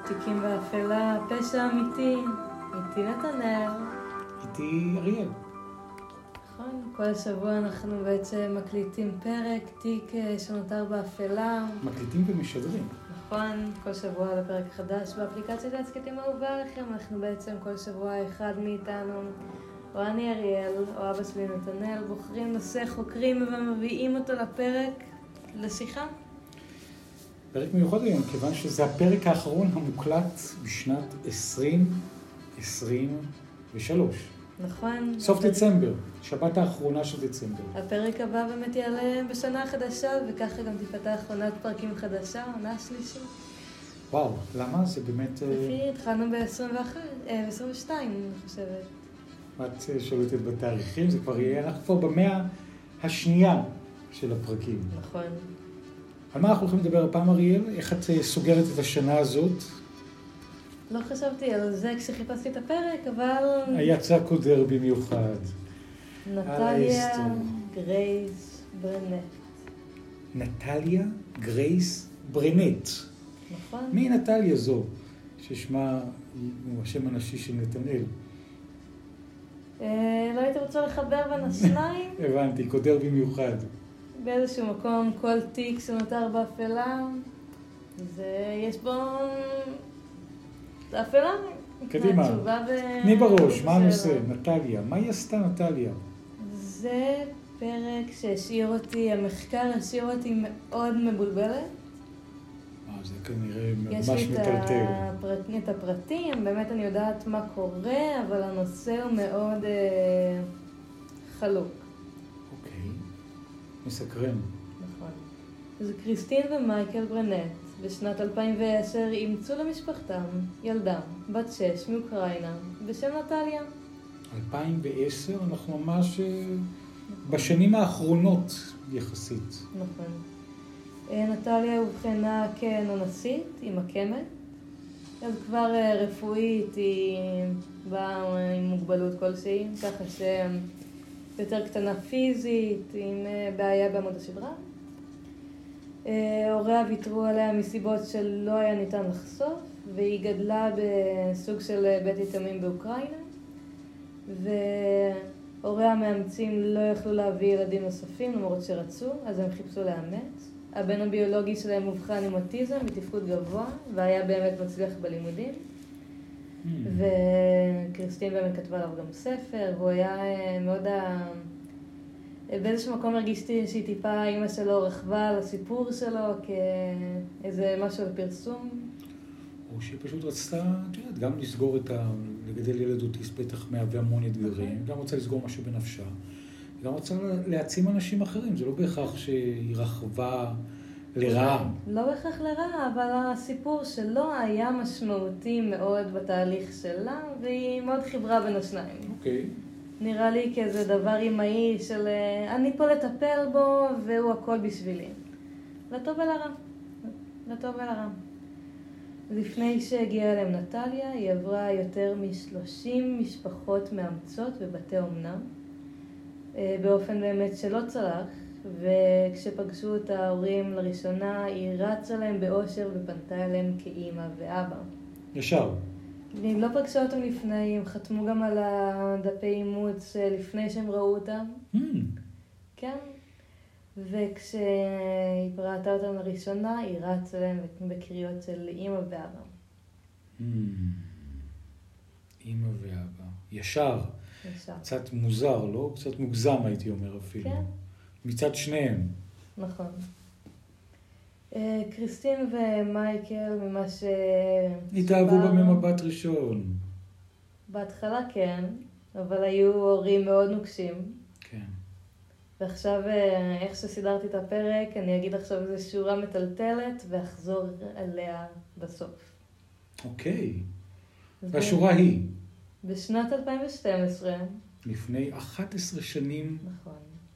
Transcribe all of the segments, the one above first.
תיקים באפלה, פשע אמיתי, איתי נתנאל. איתי אריאל. נכון, כל שבוע אנחנו בעצם מקליטים פרק, תיק שנותר באפלה. מקליטים ומשדרים. נכון, כל שבוע לפרק חדש באפליקציית ההסכתים האהובה עליכם. אנחנו בעצם כל שבוע אחד מאיתנו, או אני אריאל, או אבא שלי נתנאל, בוחרים נושא, חוקרים ומביאים אותו לפרק, לשיחה. פרק מיוחד היום, כיוון שזה הפרק האחרון המוקלט בשנת 2023. נכון. סוף דצמבר, שבת האחרונה של דצמבר. הפרק הבא באמת יעלה בשנה החדשה, וככה גם תפתח עונת פרקים חדשה, עונה השלישית. וואו, למה? זה באמת... לפי התחלנו ב-22, אני חושבת. את שולטת בתאריכים, זה כבר יהיה, אנחנו כבר במאה השנייה של הפרקים. נכון. על מה אנחנו הולכים לדבר הפעם, אריאל? איך את סוגרת את השנה הזאת? לא חשבתי על זה כשחיפשתי את הפרק, אבל... יצא קודר במיוחד. נטליה גרייס ברנט. נטליה גרייס ברנט. נכון. מי נטליה זו? ששמה הוא השם הנשי של נתנאל. לא הייתי רוצה לחבר בין השניים. הבנתי, קודר במיוחד. באיזשהו מקום, כל תיק שנותר באפלה, יש בו... אפלה. קדימה, תני בראש, מה הנושא? נטליה. מה היא עשתה נטליה? זה פרק שהשאיר אותי, המחקר השאיר אותי מאוד מבולבלת. זה כנראה ממש יש לי מטלטל. את הפרטים, באמת אני יודעת מה קורה, אבל הנושא הוא מאוד חלוק. אוקיי, מסקרן. נכון. אז קריסטין ומייקל ברנט בשנת 2010 אימצו למשפחתם ילדה, בת 6 מאוקראינה, בשם נטליה. 2010, אנחנו ממש בשנים האחרונות יחסית. נכון. נטליה הובחנה כנונסית, היא מקמת. אז כבר רפואית היא באה עם מוגבלות כלשהי, ככה שיותר קטנה פיזית, עם בעיה בעמוד השדרה. הוריה ויתרו עליה מסיבות שלא היה ניתן לחשוף, והיא גדלה בסוג של בית יתומים באוקראינה, והוריה המאמצים לא יכלו להביא ילדים נוספים למרות שרצו, אז הם חיפשו לאמץ. הבן הביולוגי שלהם מובחן עם אוטיזם מתפקוד גבוה, והיה באמת מצליח בלימודים. וקריסטין באמת כתבה עליו גם ספר, והוא היה מאוד... באיזשהו מקום הרגישתי שהיא טיפה, אמא שלו רכבה על הסיפור שלו כאיזה משהו לפרסום. או שהיא פשוט רצתה, גם לסגור לגדל ילד אוטיסט בטח מהווה המון אתגרים, גם רוצה לסגור משהו בנפשה, גם רוצה להעצים אנשים אחרים, זה לא בהכרח שהיא רכבה לרעה. לא בהכרח לרעה, אבל הסיפור שלו היה משמעותי מאוד בתהליך שלה, והיא מאוד חיברה בין השניים. אוקיי. נראה לי כאיזה דבר אימהי של אני פה לטפל בו והוא הכל בשבילי. לטוב ולרע. לטוב ולרע. לפני שהגיעה אליהם נטליה, היא עברה יותר מ-30 משפחות מאמצות בבתי אומנה, באופן באמת שלא צלח, וכשפגשו את ההורים לראשונה, היא רצה להם באושר ופנתה אליהם כאימא ואבא. ישר. ואם לא פגשו אותם לפני, הם חתמו גם על הדפי אימוץ לפני שהם ראו אותם. כן. וכשהיא ראתה אותם לראשונה, היא רצה להם בקריאות של אימא ואבא. אימא ואבא. ישר. ישר. קצת מוזר, לא? קצת מוגזם הייתי אומר אפילו. כן. מצד שניהם. נכון. קריסטין ומייקל, ממה ש... התאהבו בה ממבט ראשון. בהתחלה כן, אבל היו הורים מאוד נוקשים. כן. ועכשיו, איך שסידרתי את הפרק, אני אגיד עכשיו איזו שורה מטלטלת, ואחזור עליה בסוף. אוקיי. והשורה היא? בשנת 2012. לפני 11 שנים. נכון.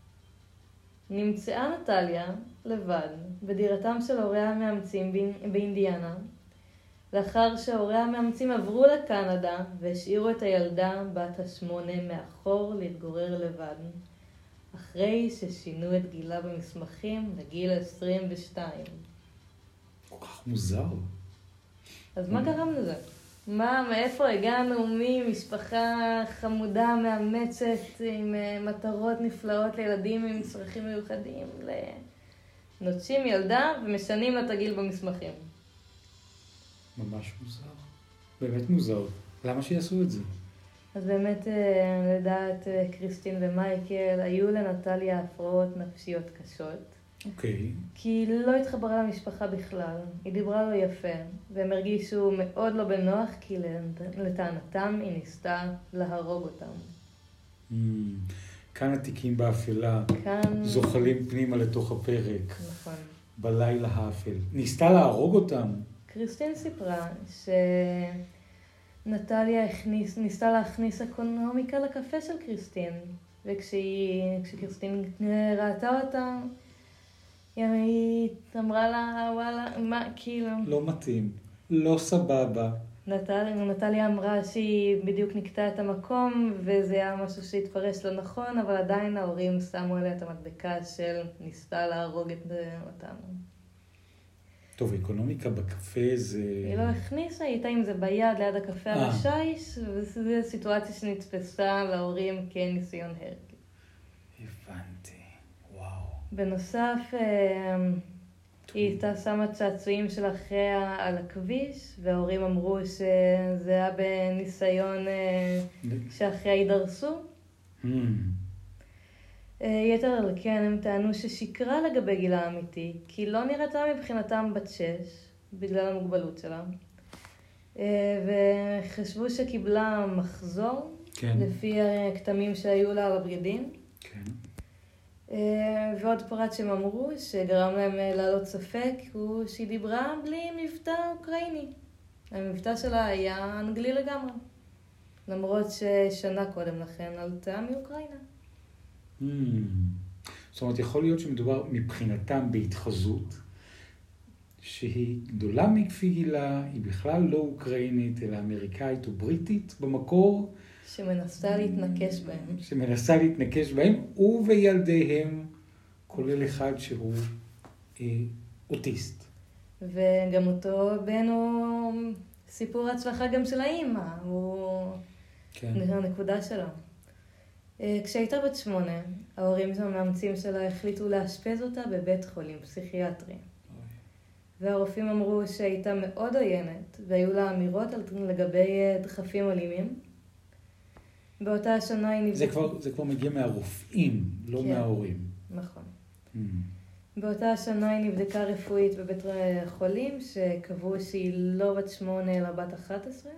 נמצאה נטליה לבד בדירתם של הוריה המאמצים באינדיאנה, לאחר שהוריה המאמצים עברו לקנדה והשאירו את הילדה בת ה8 מאחור להתגורר לבד, אחרי ששינו את גילה במסמכים לגיל 22. כל כך מוזר. אז מה גרם לזה? מאיפה הגענו ממשפחה חמודה, מאמצת, עם מטרות נפלאות לילדים עם צרכים מיוחדים, נוטשים ילדה ומשנים לה את הגיל במסמכים? ממש מוזר. באמת מוזר. למה שיעשו את זה? אז באמת, לדעת קריסטין ומייקל, היו לנטליה הפרעות נפשיות קשות. אוקיי. כי היא לא התחברה למשפחה בכלל. היא דיברה לו יפה, והם הרגישו מאוד לא בנוח, כי לטענתם היא ניסתה להרוג אותם. כאן התיקים באפלה, כאן... זוחלים פנימה לתוך הפרק. נכון. בלילה האפל. ניסתה להרוג אותם. קריסטין סיפרה שנטליה ניסתה להכניס אקונומיקה לקפה של קריסטין, וכשקריסטין ראתה אותה, היא אמרה לה, וואלה, מה, כאילו... לא מתאים, לא סבבה. נטליה אמרה שהיא בדיוק נקטה את המקום, וזה היה משהו שהתפרש לא נכון, אבל עדיין ההורים שמו עליה את המדבקה של ניסתה להרוג אותנו. טוב, אקונומיקה בקפה זה... היא לא הכניסה, היא הייתה עם זה ביד ליד הקפה על השיש, וזו סיטואציה שנתפסה להורים כניסיון הרג. הבנתי, וואו. בנוסף, היא הייתה שמה צעצועים של אחריה על הכביש, וההורים אמרו שזה היה בניסיון שאחריה יידרסו. יתר על כן, הם טענו ששיקרה לגבי גילה האמיתי, כי לא נראתה מבחינתם בת 6, בגלל המוגבלות שלה. וחשבו שקיבלה מחזור, כן. לפי הכתמים שהיו לה על הבגדים. כן. ועוד פרט שהם אמרו, שגרם להם לעלות ספק, הוא שהיא דיברה בלי מבטא אוקראיני. המבטא שלה היה אנגלי לגמרי. למרות ששנה קודם לכן עלתה מאוקראינה. זאת אומרת, יכול להיות שמדובר מבחינתם בהתחזות, שהיא גדולה מכפי גילה, היא בכלל לא אוקראינית, אלא אמריקאית או בריטית במקור. שמנסה להתנקש בהם. שמנסה להתנקש בהם, ובילדיהם, כולל אחד שהוא אוטיסט. וגם אותו בן הוא סיפור הצלחה גם של האמא, הוא הנקודה שלו. כשהייתה בת 8, ההורים המאמצים שלה החליטו לאשפז אותה בבית חולים פסיכיאטרי. והרופאים אמרו שהייתה מאוד עוינת, והיו לה אמירות לגבי דחפים אלימים. באותה השנה היא נבדקה... זה כבר מגיע מהרופאים, לא מההורים. נכון. באותה השנה היא נבדקה רפואית בבית חולים, שקבעו שהיא לא בת 8 אלא בת 11.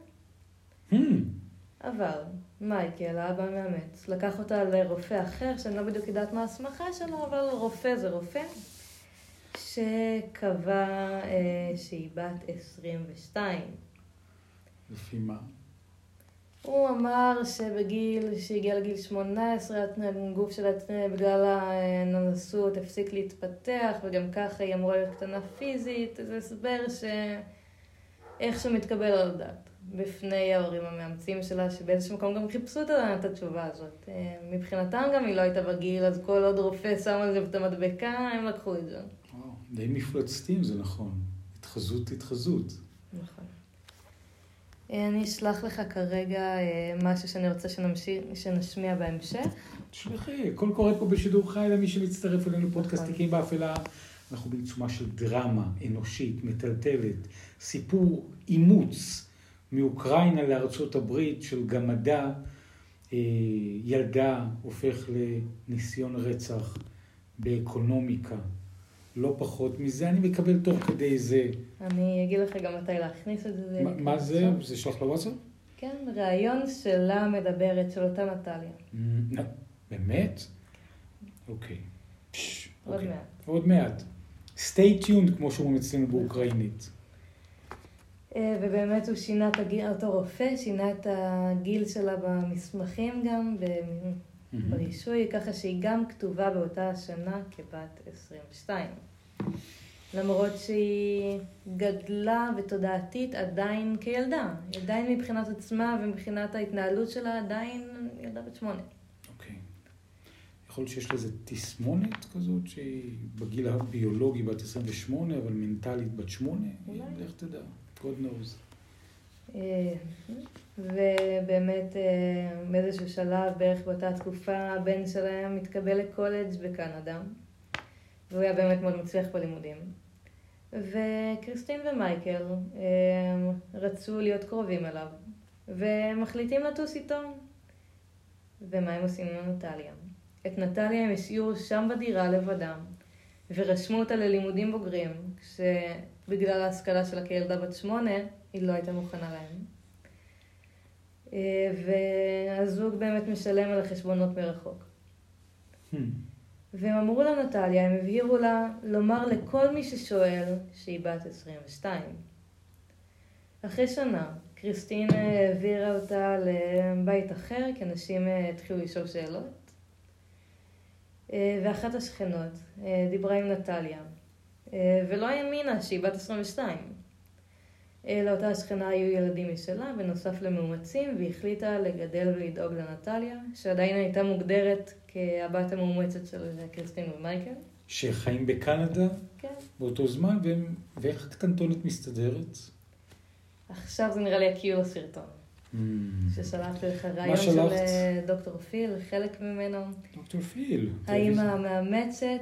אבל מייקל, האבא מאמץ, לקח אותה לרופא אחר, שאני לא בדיוק יודעת מה הסמכה שלו, אבל רופא זה רופא, שקבע שהיא בת 22. לפי מה? הוא אמר שהגיע לגיל 18, הגוף שלה בגלל הננסות הפסיק להתפתח, וגם ככה היא אמורה להיות קטנה פיזית. זה הסבר שאיכשהו מתקבל על הדעת בפני ההורים המאמצים שלה, שבאיזשהו מקום גם חיפשו את התשובה הזאת. מבחינתם גם היא לא הייתה בגיל, אז כל עוד רופא שם על זה את המדבקה, הם לקחו את זה. די מפלצתים, זה נכון. התחזות. נכון. אני אשלח לך כרגע משהו שאני רוצה שנשמיע בהמשך. תשלחי, הכל קורה פה בשידור חי למי שמצטרף אלינו פודקאסט תיקים באפלה. אנחנו בעיצומה של דרמה אנושית, מטלטלת, סיפור אימוץ מאוקראינה לארצות הברית של גמדה, ילדה הופך לניסיון רצח באקונומיקה. לא פחות מזה, אני מקבל תוך כדי זה. אני אגיד לך גם מתי להכניס את זה. מה זה? זה שלח לוואטסאפ? כן, ראיון שלה מדברת, של אותה נטליה. באמת? אוקיי. עוד מעט. עוד מעט. stay tuned, כמו שאומרים אצלנו באוקראינית. ובאמת הוא שינה את הגיל, אותו רופא, שינה את הגיל שלה במסמכים גם, ברישוי, ככה שהיא גם כתובה באותה השנה כבת 22. למרות שהיא גדלה ותודעתית עדיין כילדה. עדיין מבחינת עצמה ומבחינת ההתנהלות שלה עדיין ילדה בת 8. אוקיי. יכול להיות שיש לזה תסמונת כזאת, שהיא בגיל הביולוגי בת 28, אבל מנטלית בת 8. אולי. איך תדע? God knows. ובאמת באיזשהו שלב, בערך באותה תקופה, הבן שלהם מתקבל לקולג' בקנדה, והוא היה באמת מאוד מצליח בלימודים. וקריסטין ומייקל רצו להיות קרובים אליו, ומחליטים לטוס איתו. ומה הם עושים עם נטליה? את נטליה הם השאירו שם בדירה לבדם, ורשמו אותה ללימודים בוגרים, כשבגלל ההשכלה שלה כילדה בת 8, היא לא הייתה מוכנה להם. והזוג באמת משלם על החשבונות מרחוק. והם אמרו לנטליה, הם הבהירו לה לומר לכל מי ששואל שהיא בת 22. אחרי שנה, קריסטין העבירה אותה לבית אחר, כי אנשים התחילו לשאול שאלות. ואחת השכנות דיברה עם נטליה, ולא האמינה שהיא בת 22. לאותה השכנה היו ילדים משלה, בנוסף למאומצים, והחליטה לגדל ולדאוג לנטליה, שעדיין הייתה מוגדרת כהבת המאומצת של קריסטין ומייקל. שחיים בקנדה? כן. באותו זמן, ואיך הקטנטונת מסתדרת? עכשיו זה נראה לי הקיול הסרטון. ששלחתי לך רעיון של דוקטור פיל, חלק ממנו. דוקטור פיל. האמא המאמצת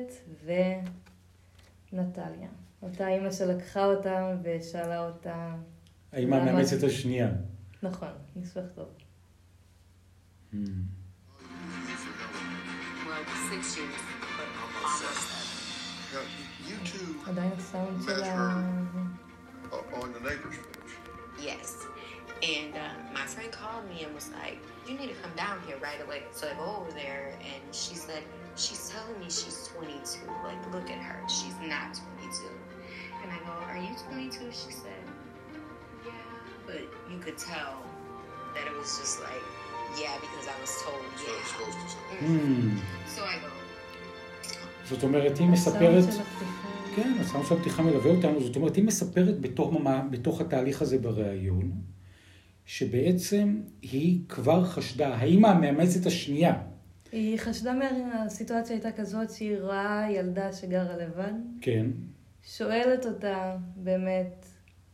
ונטליה. אותה אמא שלקחה אותה ושאלה אותה... האמא המאמצת השנייה. נכון, ניסוח טוב. עדיין הסאונד של ה... on the neighbor's porch. Yes. And my friend called me and was like, you need to come down here right away. So I go over there and she said, she's telling me she's 22. Like, look at her. She's not 22. And I go, are you 22? She said, yeah. But you could tell that it was just like, yeah, because I was told, yeah. So it's supposed to say. So I go. זאת אומרת, היא מספרת... כן, הסאונד של הפתיחה מלווה אותנו. זאת אומרת, היא מספרת בתוך התהליך הזה בריאיון, שבעצם היא כבר חשדה, האמא המאמצת השנייה. היא חשדה מהסיטואציה הייתה כזאת שהיא רואה ילדה שגרה לבד. כן. שואלת אותה באמת,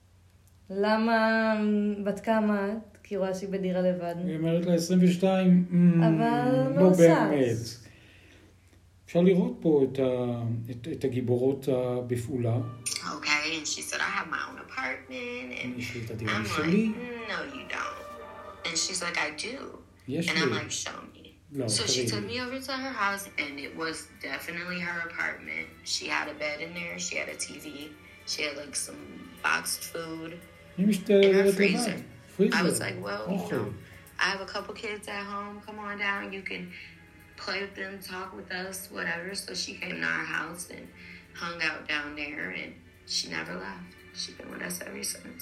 למה בת כמה את? כי היא רואה שהיא בדירה לבד. היא אומרת לה 22, אבל לא באמת. אפשר לראות פה את הגיבורות בפעולה. Okay, and she said, I have my own apartment, and I'm like, no, you don't. And she's like, I do. Yes, and I'm like, show me. So she took me over to her house, and it was definitely her apartment. She had a bed in there, she had a TV, she had like some boxed food in her freezer. I was like, well, you know, I have a couple kids at home, come on down, you can play with them, talk with us, whatever. So she came to our house and hung out down there, and she never left. She's been with us ever since.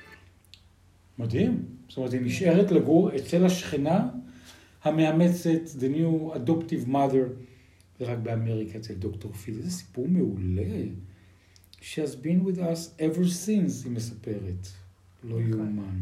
מדהים. זאת אומרת, היא נשארת לגור אצל השכנה המאמצת, the new adoptive mother, ורק באמריקה אצל דוקטור פיל. זה סיפור מעולה. She has been with us ever since, היא מספרת. לא יאומן.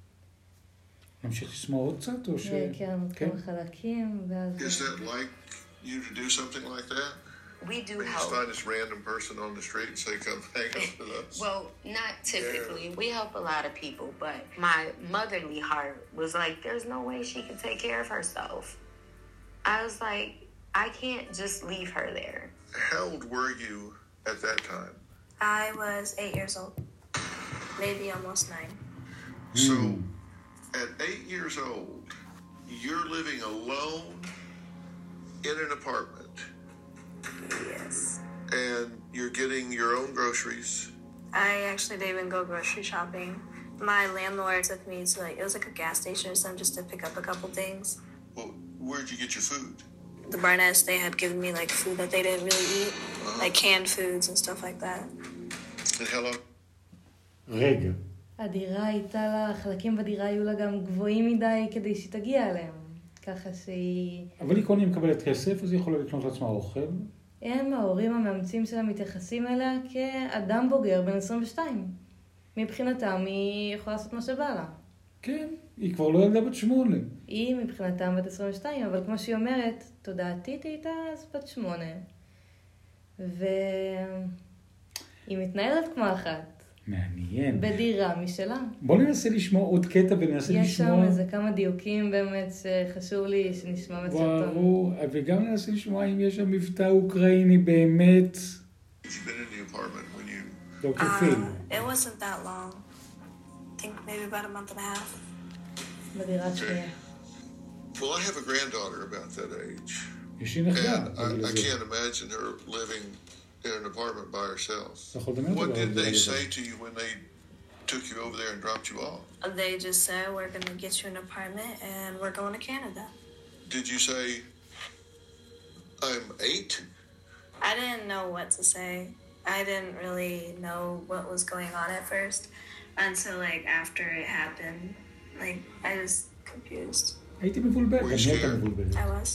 נמשיך לשמוע עוד קצת, או ש... כן, כמה חלקים, ואז... Is that like you to do something like that? We do You help. just find this random person on the street and say, come hang out with us? Well, not typically. We help a lot of people, but my motherly heart was like, there's no way she can take care of herself. I was like, I can't just leave her there. How old were you at that time? I was 8 years old, maybe almost 9. So, at 8 years old, you're living alone in an apartment. Yes. And you're getting your own groceries. I actually didn't even go grocery shopping. My landlord took me to it was like a gas station or something just to pick up a couple things. Well, where'd you get your food? The Barnett's, they had given me like food that they didn't really eat, like canned foods and stuff like that. And how long? רגע. הדירה הייתה לה, חלקים בדירה היו לה גם גבוהים מדי כדי שהיא תגיע אליהם. ככה שהיא... אבל היא קודם מקבלת כסף, אז היא יכולה לקנות לעצמה אוכל. הם, ההורים המאמצים שלה, מתייחסים אליה כאדם בוגר בן 22. מבחינתם היא יכולה לעשות מה שבא לה. כן, היא כבר לא ילדה בת 8. היא מבחינתם בת 22, אבל כמו שהיא אומרת, תודעתית הייתה אז בת 8. והיא מתנהלת כמו אחת. מעניין. בדירה משלה. בוא ננסה לשמוע עוד קטע וננסה לשמוע... יש שם איזה כמה דיוקים באמת שחשוב לי שנשמע בסרטון. ברור, וגם ננסה לשמוע אם יש שם מבטא אוקראיני באמת. דוקטור פיל. It wasn't that long. I think maybe about a month and a half. בדירה שנייה. Well, I have a granddaughter about that age. יש לי נכדה. And I can't imagine her living in an apartment by herself. What did they say to you when they took you over there and dropped you off? They just said, we're going to get you an apartment and we're going to Canada. Did you say, I'm 8? I didn't know what to say. I didn't really know what was going on at first until like after it happened. Like I was confused. הייתי מבולבל. I was.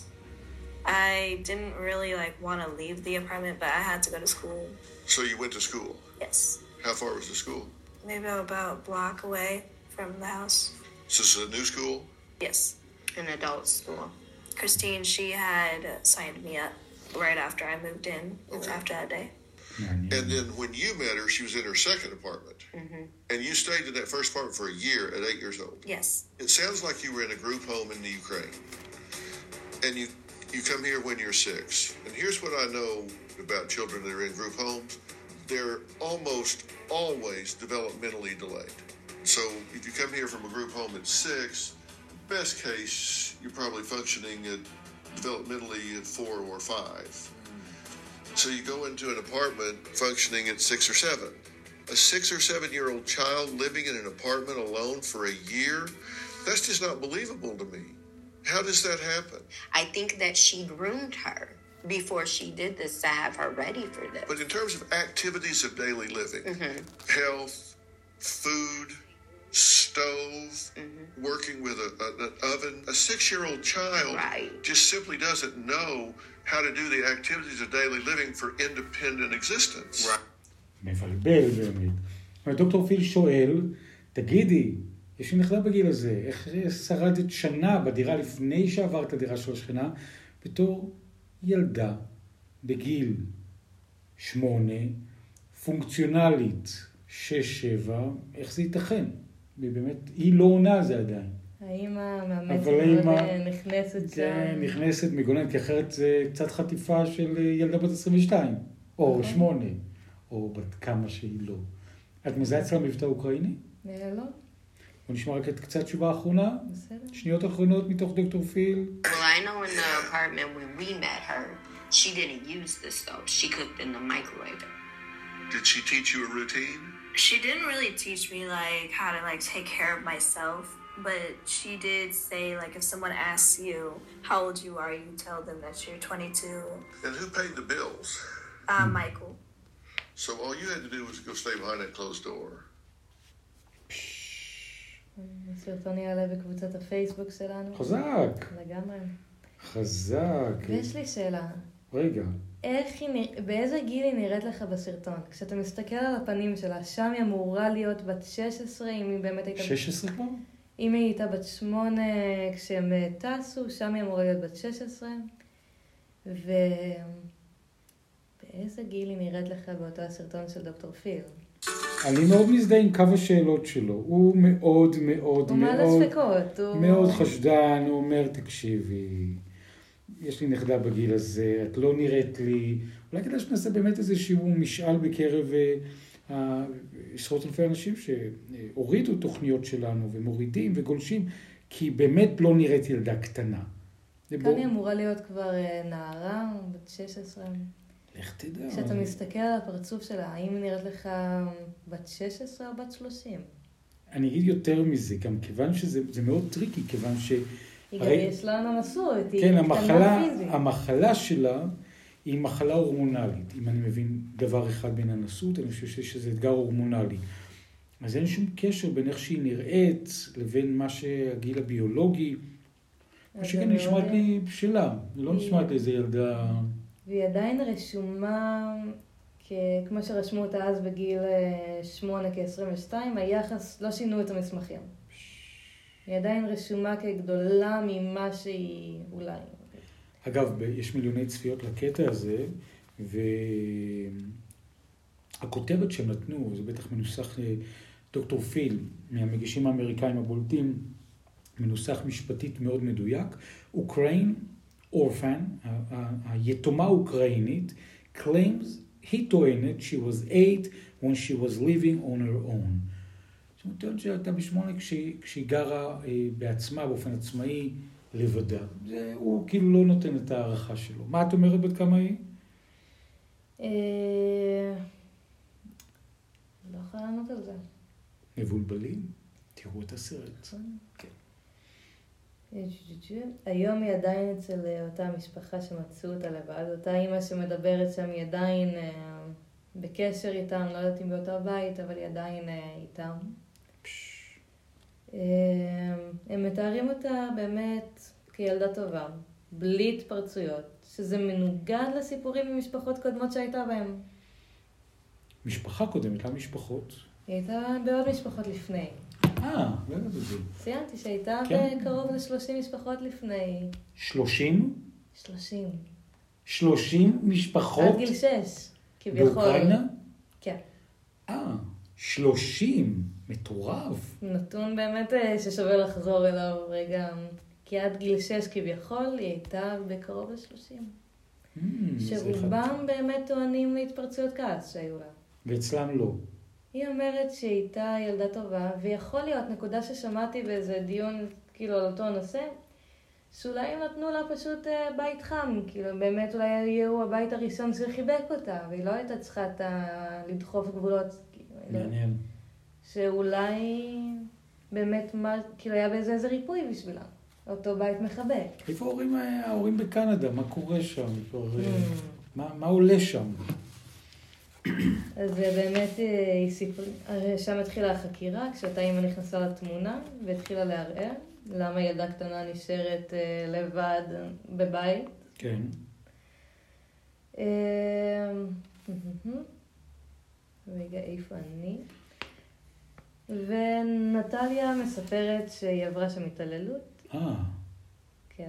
I didn't really like want to leave the apartment, but I had to go to school. So you went to school? Yes. How far was the school? Maybe about a block away from the house. Is this a new school? Yes. An adult school. Christine, she had signed me up right after I moved in. Okay. After that day. And then when you met her, she was in her second apartment. Mm-hmm. And you stayed in that first apartment for a year at 8 years old. Yes. It sounds like you were in a group home in the Ukraine. And you come here when you're 6. And here's what I know about children that are in group homes. They're almost always developmentally delayed. So if you come here from a group home at 6, best case, you're probably functioning at developmentally at 4 or 5. So you go into an apartment functioning at 6 or 7. A 6 or 7-year-old child living in an apartment alone for a year? That's just not believable to me. How does that happen? I think that she groomed her before she did this to have her ready for this. But in terms of activities of daily living, health, food, stove, working with an oven, a 6-year-old child just simply doesn't know how to do the activities of daily living for independent existence. מבלבל באמת. דוקטור פיל שואל, תגידי, יש לי נכדה בגיל הזה, איך שרדת שנה בדירה לפני שעברת לדירה של השכנה, בתור ילדה בגיל 8, פונקציונלית 6-7, איך זה ייתכן? ובאמת, היא לא עונה זה עדיין. האמא מאמצת מאוד נכנסת שם. כן, נכנסת מגוננת, כי אחרת זה קצת חטיפה של ילדה בת 22, או 8, או בת כמה שהיא לא. את מזהה אצלה מבטא אוקראיני? לא. בוא נשמע רק את קצת תשובה האחרונה. בסדר. שניות אחרונות מתוך דוקטור פיל. Well, I know in the apartment when we met her, she didn't use the stove. She cooked in the microwave. Did she teach you a routine? She didn't really teach me like how to like take care of myself, but she did say like if someone asks you how old you are, you tell them that you're 22. And who paid the bills? Michael. So all you had to do was go stay behind that closed door. הסרטון יעלה בקבוצת הפייסבוק שלנו. חזק. לגמרי. חזק. ויש לי שאלה. רגע. באיזה גיל היא נראית לך בסרטון? כשאתה מסתכל על הפנים שלה, שם היא אמורה להיות בת 16, אם היא באמת הייתה... 16 כבר? אם היא הייתה בת 8 כשהם טסו, שם היא אמורה להיות בת 16. ובאיזה גיל היא נראית לך באותו הסרטון של דוקטור פיל? אני מאוד מזדהה עם קו השאלות שלו. הוא מאוד מאוד הוא מעלה ספקות. מאוד חשדן, הוא אומר, תקשיבי, יש לי נכדה בגיל הזה, את לא נראית לי. אולי כדאי שנעשה באמת איזשהו משאל בקרב עשרות אלפי אנשים שהורידו תוכניות שלנו ומורידים וגולשים, כי באמת לא נראית ילדה קטנה. כאן היא אמורה להיות כבר נערה, בת 16. איך תדע? כשאתה מסתכל על הפרצוף שלה, האם היא נראית לך בת 16 או בת 30? אני אגיד יותר מזה, גם כיוון שזה מאוד טריקי, כיוון ש... היא גם יש לה נמסות, היא כן, קטנה פיזית. המחלה שלה היא מחלה הורמונלית. אם אני מבין דבר אחד בין הנסות, אני חושב שזה אתגר הורמונלי. אז אין שום קשר בין איך שהיא נראית לבין מה שהגיל הביולוגי. מה שכן נשמעת לי שלה. לא נשמעת לי איזה ילדה... והיא עדיין רשומה, כמו שרשמו אותה אז בגיל 8 כ-22, היחס, לא שינו את המסמכים. היא עדיין רשומה כגדולה ממה שהיא אולי. אגב, יש מיליוני צפיות לקטע הזה, והכותרת שהם נתנו, זה בטח מנוסח דוקטור פיל, מהמגישים האמריקאים הבולטים, מנוסח משפטית מאוד מדויק, אוקראין, אורפן, היתומה אוקראינית, claims, היא טוענת, she was 8 when she was living on her own. זאת אומרת, שהייתה בשמונה כשהיא גרה בעצמה, באופן עצמאי, לבדה. הוא כאילו לא נותן את הערכה שלו. מה את אומרת בת כמה היא? לא יכולה לענות על זה. מבולבלים? תראו את הסרט. כן. היום היא עדיין אצל אותה משפחה שמצאו אותה לבד. אותה אימא שמדברת שם היא עדיין בקשר איתם, לא יודעת אם באותו בית, אבל היא עדיין איתם. הם מתארים אותה באמת כילדה טובה, בלי התפרצויות, שזה מנוגד לסיפורים ממשפחות קודמות שהייתה בהם. משפחה קודמת, למה משפחות? היא הייתה בעוד משפחות לפני. לא יודעת את זה. ציינתי שהייתה בקרוב ל-30 משפחות לפני. 30? 30. 30 משפחות? עד גיל 6, כביכול. באוקראינה? כן. 30? מטורף. נתון באמת ששווה לחזור אליו רגע. כי עד גיל 6 כביכול היא הייתה בקרוב ל-30. שרובם באמת טוענים להתפרצויות כעס שהיו לה. ואצלם לא. היא אומרת שהיא הייתה ילדה טובה, ויכול להיות נקודה ששמעתי באיזה דיון כאילו על אותו נושא, שאולי הם נתנו לה פשוט בית חם, כאילו באמת אולי יהיו הבית הראשון שחיבק אותה, והיא לא הייתה צריכה לדחוף גבולות. מעניין. שאולי באמת כאילו היה באיזה ריפוי בשבילה, אותו בית מחבק. איפה ההורים בקנדה? מה קורה שם? מה עולה שם? אז באמת שם התחילה החקירה, כשאותה אימא נכנסה לתמונה והתחילה לערער, למה ילדה קטנה נשארת לבד בבית. כן. רגע, איפה אני? ונטליה מספרת שהיא עברה שם התעללות. כן.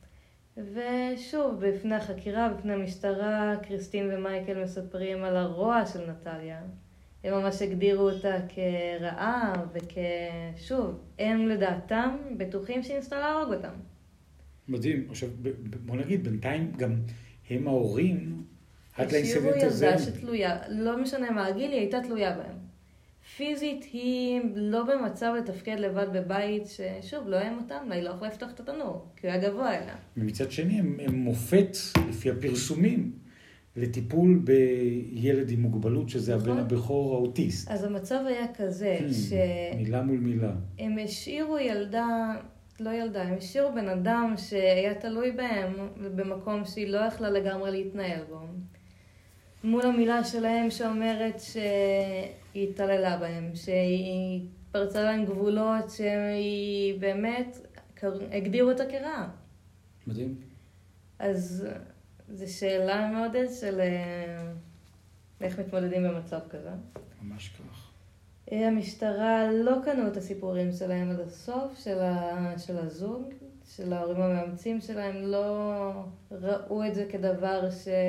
ושוב, בפני החקירה, בפני המשטרה, קריסטין ומייקל מספרים על הרוע של נטליה. הם ממש הגדירו אותה כרעה וכשוב, הם לדעתם בטוחים שהיא ניסתה להרוג אותם. מדהים. עכשיו, בוא נגיד, בינתיים גם הם ההורים, עד לאינסידנט הזה. השאירו ילדה שתלויה, לא משנה מה הגיל, היא הייתה תלויה בהם. פיזית היא לא במצב לתפקד לבד בבית ששוב, לא היה אותם, היא לא יכולה לפתוח את התנור, כי הוא היה גבוה אליה. ומצד שני, הם מופת, לפי הפרסומים, לטיפול בילד עם מוגבלות, שזה הבן הבכור האוטיסט. אז המצב היה כזה, מילה מול מילה. הם השאירו הם השאירו בן אדם שהיה תלוי בהם, במקום שהיא לא יכלה לגמרי להתנהל בו. מול המילה שלהם שאומרת שהיא התעללה בהם, שהיא פרצה להם גבולות, שהיא באמת הגדירו אותה כרעה. מדהים. אז זו שאלה מאוד של איך מתמודדים במצב כזה. ממש כך. המשטרה לא קנו את הסיפורים שלהם עד הסוף, של הזוג, של ההורים המאמצים שלהם, לא ראו את זה כדבר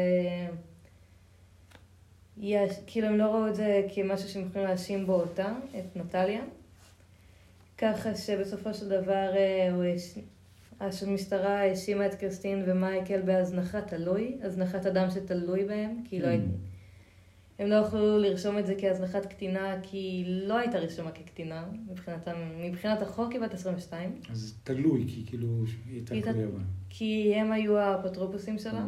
כאילו הם לא ראו את זה כמשהו שהם יכולים להאשים בו אותה, את נטליה. ככה שבסופו של דבר המשטרה האשימה את קריסטין ומייקל בהזנחת הזנחת אדם שתלוי בהם, כי הם לא יכלו לרשום את זה כהזנחת קטינה, כי היא לא הייתה רשומה כקטינה, מבחינת החוק היא בת 22. אז תלוי, כי כאילו היא הייתה תלויה בה. כי הם היו האפוטרופוסים שלה,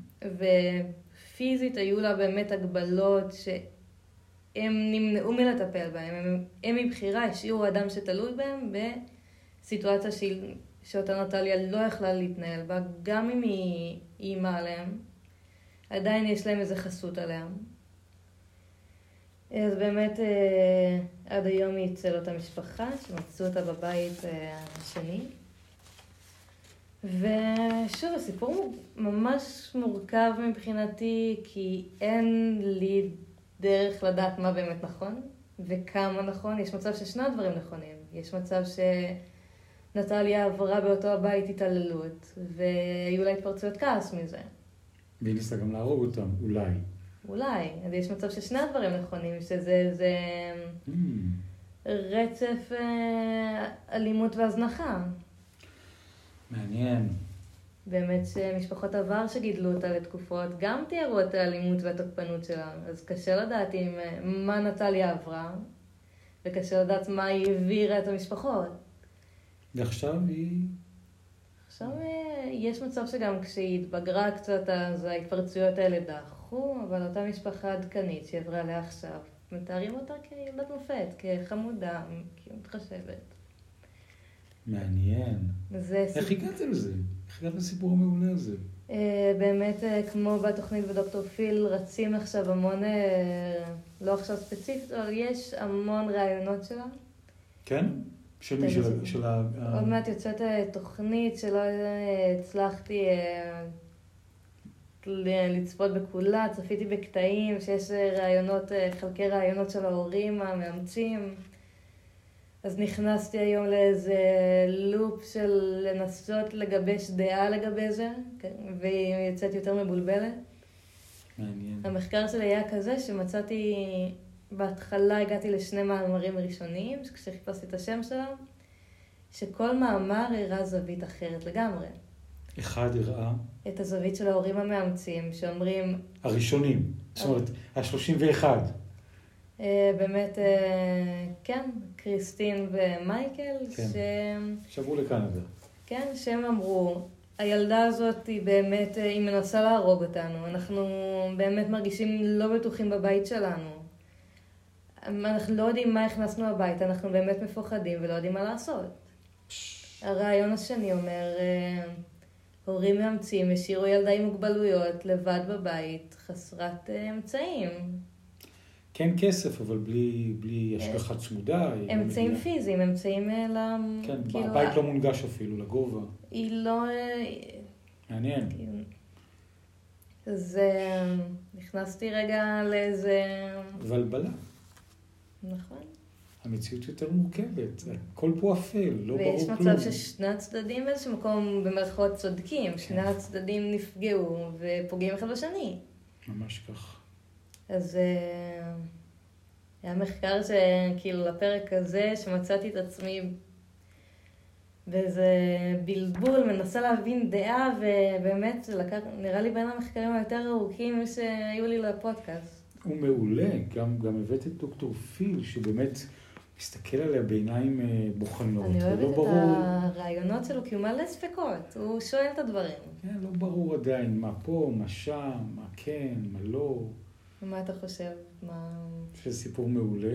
פיזית היו לה באמת הגבלות שהם נמנעו מלטפל בהם. הם מבחירה השאירו אדם שתלוי בהם בסיטואציה שאותה נטליה לא יכלה להתנהל בה, גם אם היא אימה עליהם. עדיין יש להם איזו חסות עליהם. אז באמת עד היום היא אצל אותה משפחה שמצאו אותה בבית השני. ושוב, הסיפור ממש מורכב מבחינתי, כי אין לי דרך לדעת מה באמת נכון וכמה נכון. יש מצב ששני הדברים נכונים. יש מצב נטליה עברה באותו הבית התעללות, והיו לה התפרצויות כעס מזה. והיא ניסה גם להרוג אותם, אולי. אולי, אז יש מצב ששני הדברים נכונים, שזה רצף אלימות והזנחה. מעניין. באמת שמשפחות עבר שגידלו אותה לתקופות, גם תיארו את האלימות והתוקפנות שלה, אז קשה לדעת מה נטליה עברה, וקשה לדעת מה היא העבירה את המשפחות. ועכשיו היא... עכשיו יש מצב שגם כשהיא התבגרה קצת, אז ההתפרצויות האלה דחו, אבל אותה משפחה עדכנית שעברה עליה עכשיו, מתארים אותה כילדת מופת, כחמודה, כמתחשבת. מעניין. איך הגעת לזה? איך הגעת לסיפור המעולה הזה? באמת, כמו בתוכנית בדוקטור פיל, רצים עכשיו המון, לא עכשיו ספציפית, אבל יש המון רעיונות שלה. כן? של מי? של עוד מעט יוצאת תוכנית שלא הצלחתי לצפות בכולה, צפיתי בקטעים שיש רעיונות, חלקי רעיונות של ההורים המאמצים. אז נכנסתי היום לאיזה לופ של לנסות לגבש דעה לגבי זה, והיא יוצאת יותר מבולבלת. מעניין. המחקר שלי היה כזה שמצאתי, בהתחלה הגעתי לשני מאמרים ראשוניים, כשחיפשתי את השם שלהם, שכל מאמר הראה זווית אחרת לגמרי. אחד הראה? את הזווית של ההורים המאמצים, שאומרים... הראשונים, זאת אומרת, ה-31. באמת, כן, קריסטין ומייקל, כן. שברו לקנדה. כן, שהם אמרו, הילדה הזאת היא באמת, היא מנסה להרוג אותנו, אנחנו באמת מרגישים לא בטוחים בבית שלנו. אנחנו לא יודעים מה הכנסנו הבית, אנחנו באמת מפוחדים ולא יודעים מה לעשות. הרעיון השני אומר, הורים מאמצים השאירו ילדה עם מוגבלויות לבד בבית, חסרת אמצעים. כן כסף, אבל בלי השגחה צמודה. אמצעים פיזיים, אמצעים כן, הבית לא מונגש אפילו, לגובה. היא לא... מעניין. אז נכנסתי רגע לאיזה... ולבלה. נכון. המציאות יותר מורכבת, הכל פה אפל, לא ברור כלום. ויש מצב ששני הצדדים באיזשהו מקום במרכאות צודקים, שני הצדדים נפגעו ופוגעים אחד בשני. ממש כך. אז היה מחקר שכאילו לפרק הזה, שמצאתי את עצמי באיזה בלבול, מנסה להבין דעה, ובאמת זה נראה לי בין המחקרים היותר ארוכים שהיו לי לפודקאסט. הוא מעולה, גם הבאת את דוקטור פיל, שבאמת מסתכל עליה בעיניים בוחנות. אני אוהבת את הרעיונות שלו, כי הוא מלא ספקות, הוא שואל את הדברים. כן, לא ברור עדיין מה פה, מה שם, מה כן, מה לא. מה אתה חושב? שזה סיפור מעולה,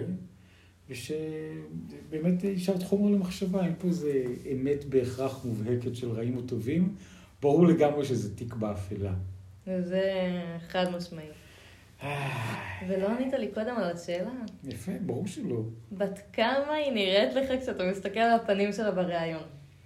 ושבאמת השארת חומר למחשבה, אם פה זה אמת בהכרח מובהקת של רעים או טובים, ברור לגמרי שזה תיק באפלה. וזה חד משמעי. ולא ענית לי קודם על השאלה? יפה, ברור שלא. בת כמה היא נראית לך כשאתה מסתכל על הפנים שלה בראיון?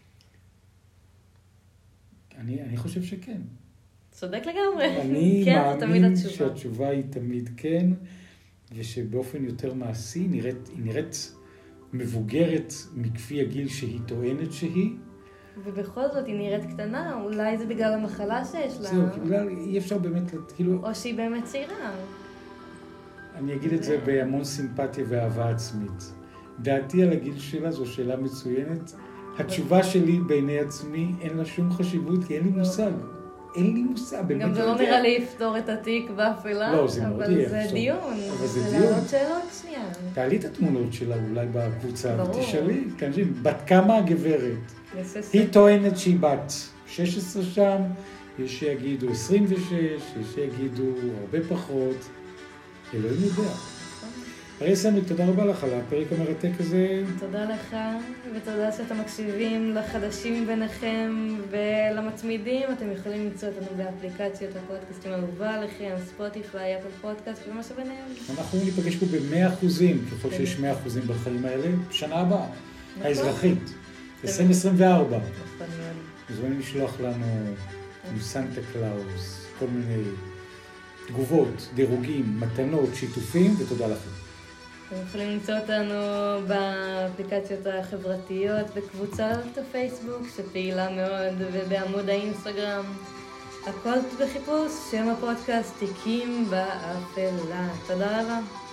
אני חושב שכן. צודק לגמרי. אני מאמין שהתשובה היא תמיד כן, ושבאופן יותר מעשי היא נראית מבוגרת מכפי הגיל שהיא טוענת שהיא. ובכל זאת היא נראית קטנה, אולי זה בגלל המחלה שיש לה. זהו, אולי אי אפשר באמת, כאילו... או שהיא באמת צעירה. אני אגיד את זה בהמון סימפתיה ואהבה עצמית. דעתי על הגיל שלה זו שאלה מצוינת. התשובה שלי בעיני עצמי אין לה שום חשיבות, כי אין לי מושג. אין לי מושג. גם זה לא נראה לי יפתור את התיק באפלה. לא, זה מאוד יהיה. אבל זה דיון. אבל זה דיון. דיון. זה לעוד שאלות שנייה. תעלי את התמונות שלה אולי בקבוצה, ברור. ותשאלי, בת כמה הגברת. היא טוענת שהיא בת 16 שם, יש שיגידו 26, יש שיגידו הרבה פחות. אלוהים יודע. הרי סמי, תודה רבה לך על הפרק המרתק הזה. תודה לך, ותודה שאתם מקשיבים לחדשים ביניכם ולמצמידים. אתם יכולים למצוא אותנו באפליקציות הפודקאסטים האהובה עליכם, ספוטיפיי, אפל פודקאסט ומה שביניהם. אנחנו ניפגש פה ב100%, ככל שיש 100% בחיים האלה, בשנה הבאה, האזרחית, 2024. מוזמנים לשלוח לנו מסנטה קלאוס, כל מיני תגובות, דירוגים, מתנות, שיתופים, ותודה לכם. אתם יכולים למצוא אותנו באפליקציות החברתיות, בקבוצת הפייסבוק שפעילה מאוד, ובעמוד האינסטגרם. הכל בחיפוש שם הפודקאסט תיקים באפלה. תודה רבה.